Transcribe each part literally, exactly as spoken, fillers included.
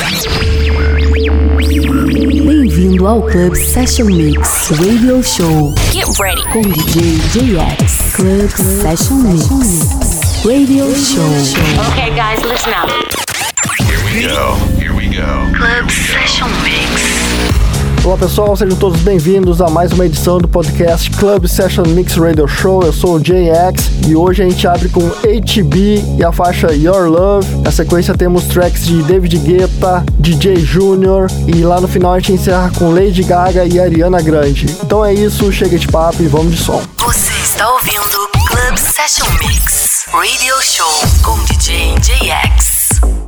Bem-vindo ao Club Session Mix Radio Show. Get ready com D J J X. Club Session Mix Radio Show. Okay, guys, listen up. Here we go. Here we go. Club Session Mix. Olá pessoal, sejam todos bem-vindos a mais uma edição do podcast Club Session Mix Radio Show. Eu sou o J X e hoje a gente abre com H B e a faixa Your Love. Na sequência temos tracks de David Guetta, D J Junior e lá no final a gente encerra com Lady Gaga e Ariana Grande. Então é isso, chega de papo e vamos de som. Você está ouvindo Club Session Mix Radio Show com D J J X.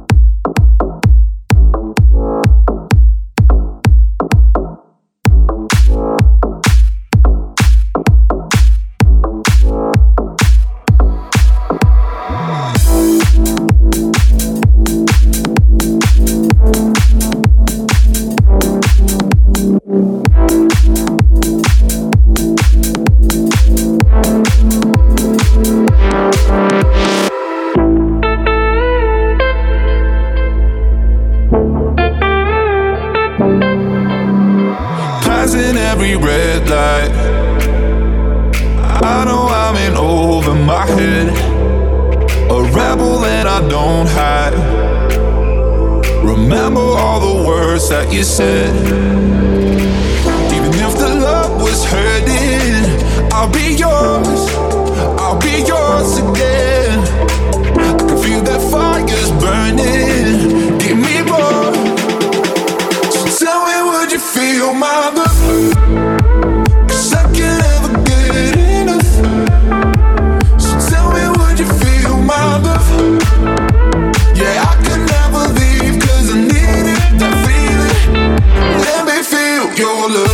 You said, even if the love was hurting, I'll be yours, I'll be yours again. I can feel that fire's burning, give me more. So tell me, would you feel my love? 'Cause I can't ever get enough. So tell me, would you feel my love? Yeah, I could never leave 'cause I need it, that feeling. Let me feel your love.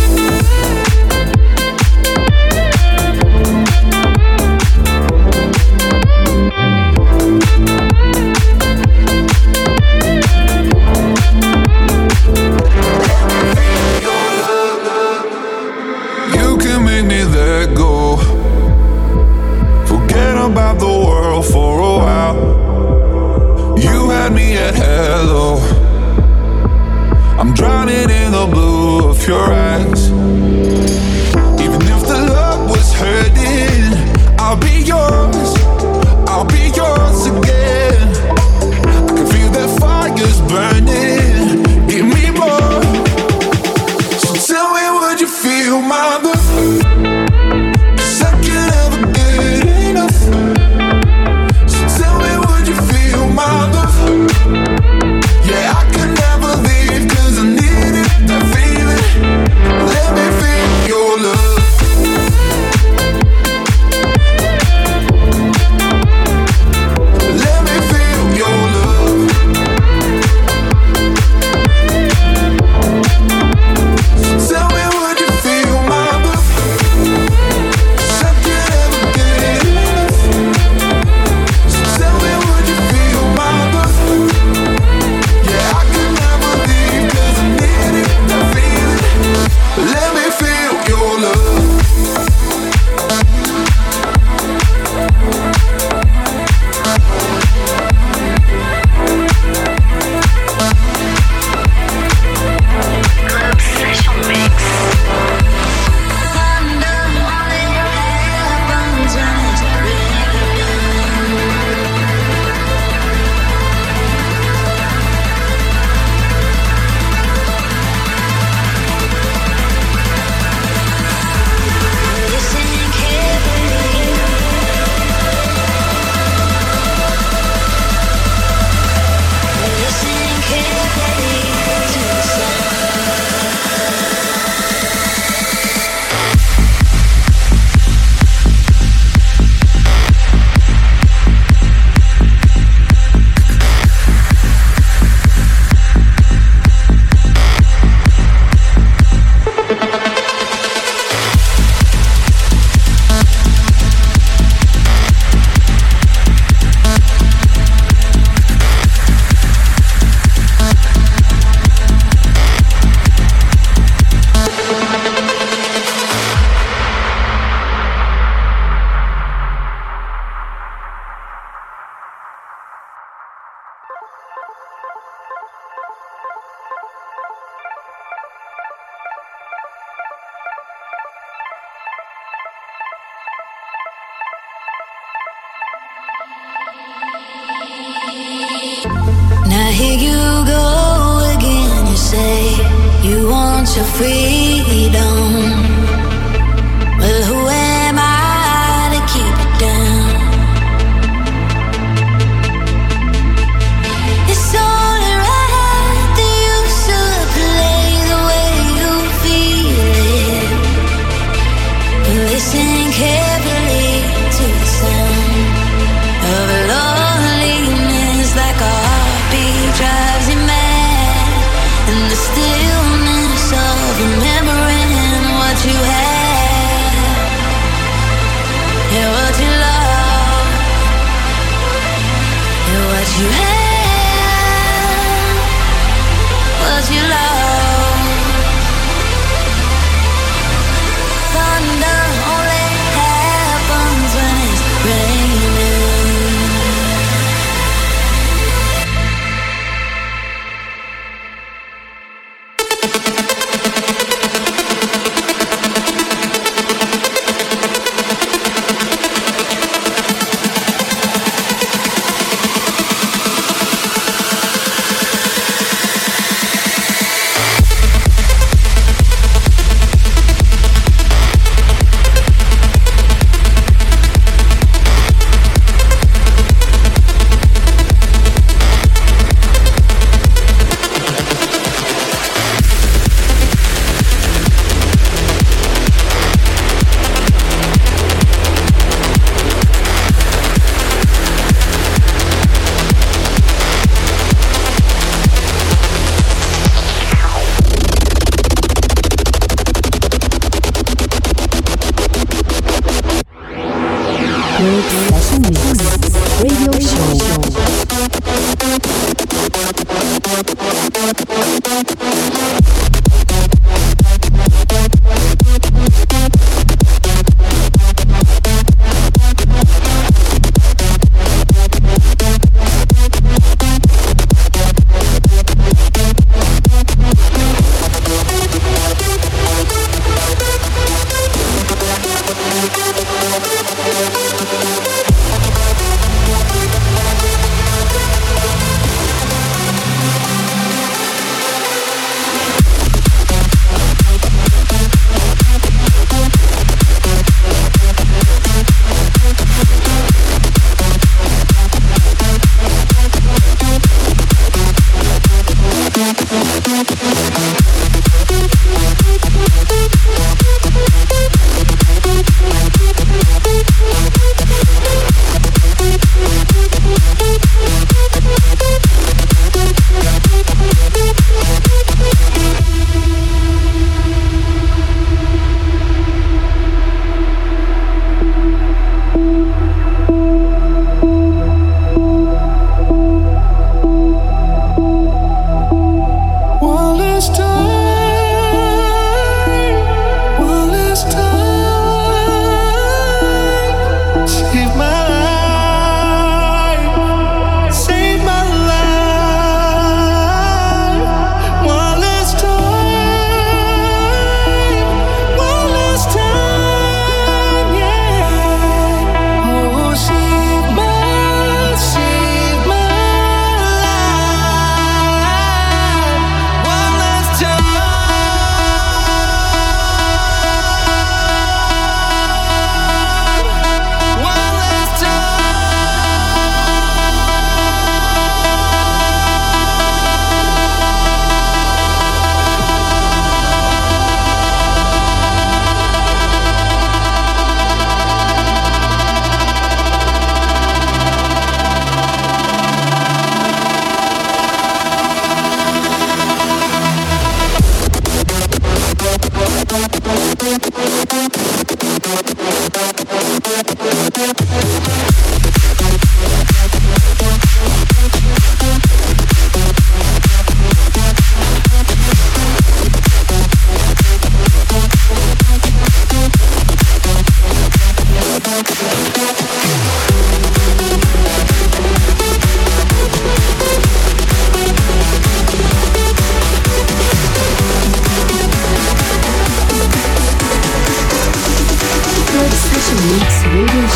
You can make me let go. Forget about the world for a while. You had me at hello. I'm drowning in the blue of your eyes. Even if the love was hurting, I'll be yours, I'll be yours again. I can feel that fire's burning, give me more. So tell me, would you feel my love? 'Cause I can't ever get enough. So tell me, would you feel my love? Yeah, I can never leave 'cause I need it, that feeling. Let me feel your love. Let me feel your love. hear you go again. You say you want your freedom. Well, who am I to keep it down? It's only right that you should play the way you feel it. Listen carefully to the sound of loneliness, like a heartbeat drives you mad, and the stillness of remembering what you had, yeah, what you love, yeah, what you had, what you love. Thunder only happens when it's raining. Club Session Mix Radio Show.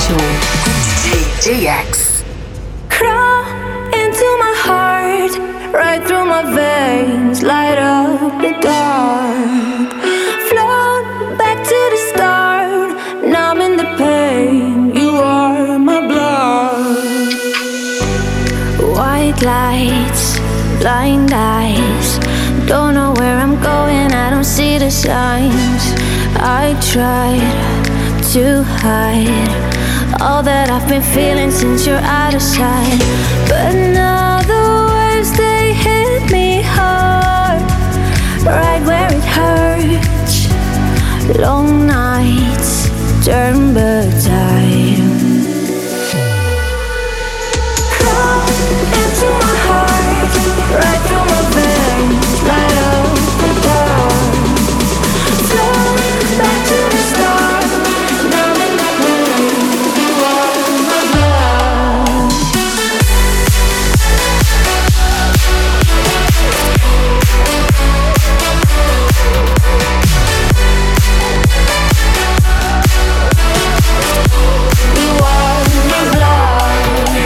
J X. Crawl into my heart, my veins light up the dark. Float back to the start, numbing the pain. You are my blood. White lights, blind eyes. Don't know where I'm going, I don't see the signs. I tried to hide all that I've been feeling since you're out of sight. But now the waves, they hit me hard, right where it hurts. Long nights turn but time. Come into my heart, right through my veins, light up the dark. Float back to the start, now in the pain. You are my blood. You are my blood.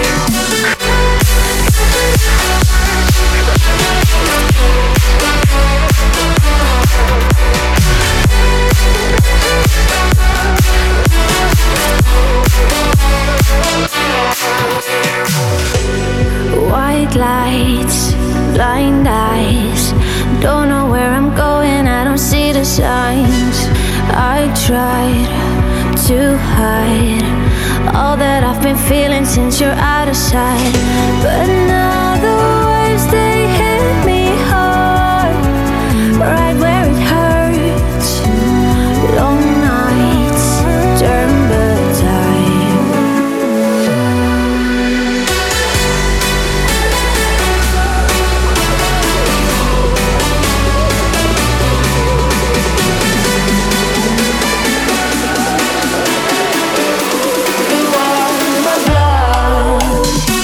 White lights, blind eyes. Don't know where I'm going, I don't see the signs. I tried to hide all that I've been feeling since you're out of sight. But now the waves, they hit me hard, right where it hurts. Long nights turn but time. You are my blood.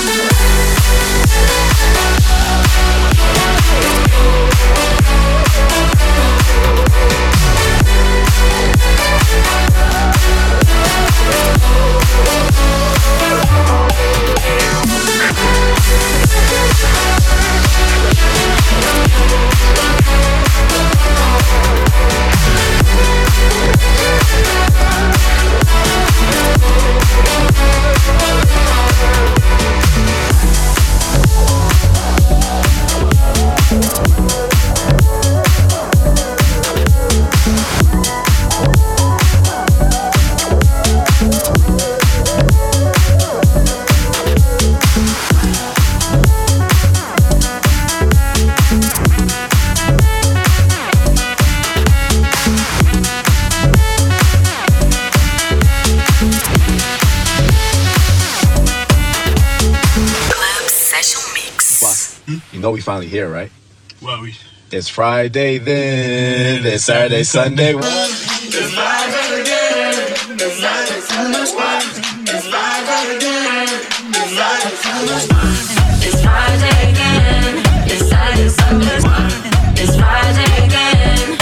Club Session Mix. You know we finally here, right? Well, we. It's Friday then. It's Saturday, Sunday. It's Friday again. It's Saturday, Sunday. It's Friday again.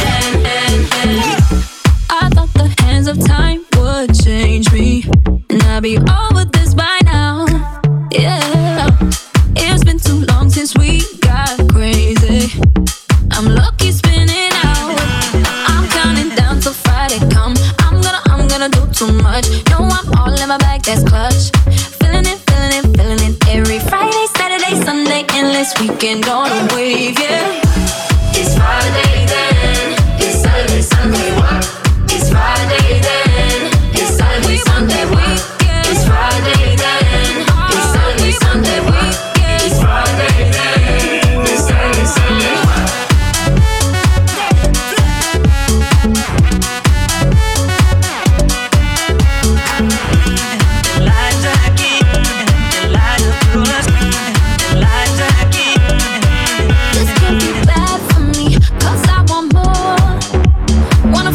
I thought the hands of time would change me, and I'd be over this by now. Yeah, it's been too long since we got crazy. I'm lucky spinning out. I'm counting down till Friday come. I'm gonna, I'm gonna do too much. No, I'm all in my bag, that's clutch. Feeling it, feeling it, feeling it. Every Friday, Saturday, Sunday, endless weekend on a wave, yeah. It's Friday then. It's Saturday, Sunday. It's Friday then. It's Saturday, Sunday. It's Friday then. It's Saturday, Sunday. It's Friday then. It's Saturday, Sunday. This could be bad for me, 'cause I want more. Wanna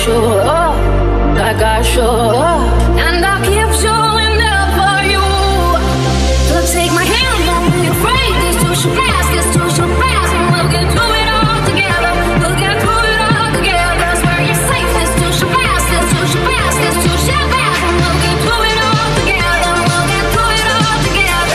show up, like I show up, and I keep showing up for you. So take my hand, don't be afraid. This too shall pass, this too shall pass, and we'll get through it all together. We'll get through it all together. Swear you're safe. This too shall pass, this too shall pass, this too shall pass, and we'll get through it all together. We'll get through it all together.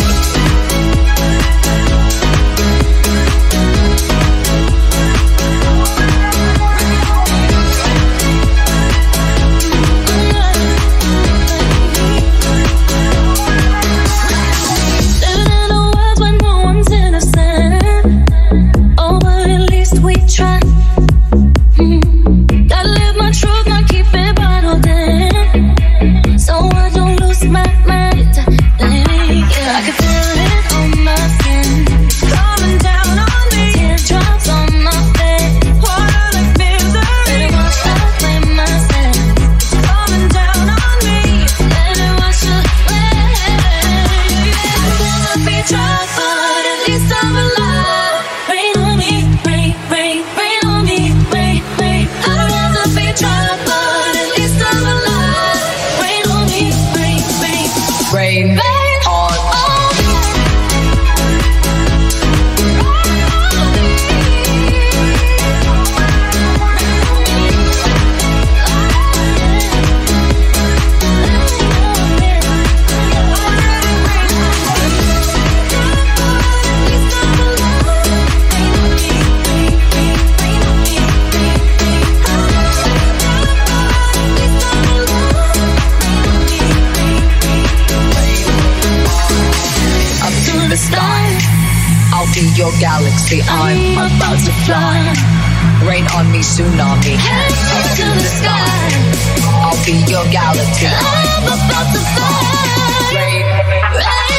On your galaxy. I'm about to fly. Rain on me, tsunami. Head up to the sky. I'll be your galaxy. I'm about to fly. Rain, Rain.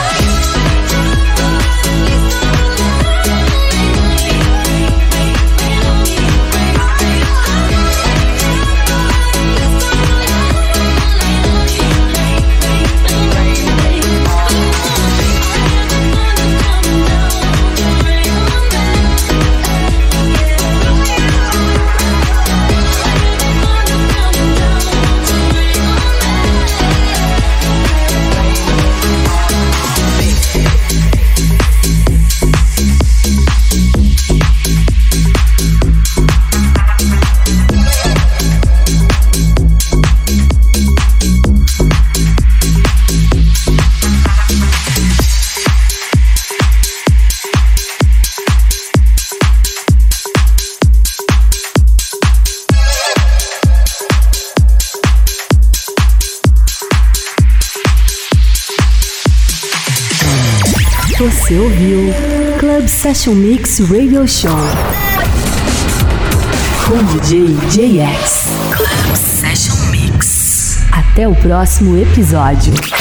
Você ouviu Club Session Mix Radio Show com D J J X. Club Session Mix. Até o próximo episódio.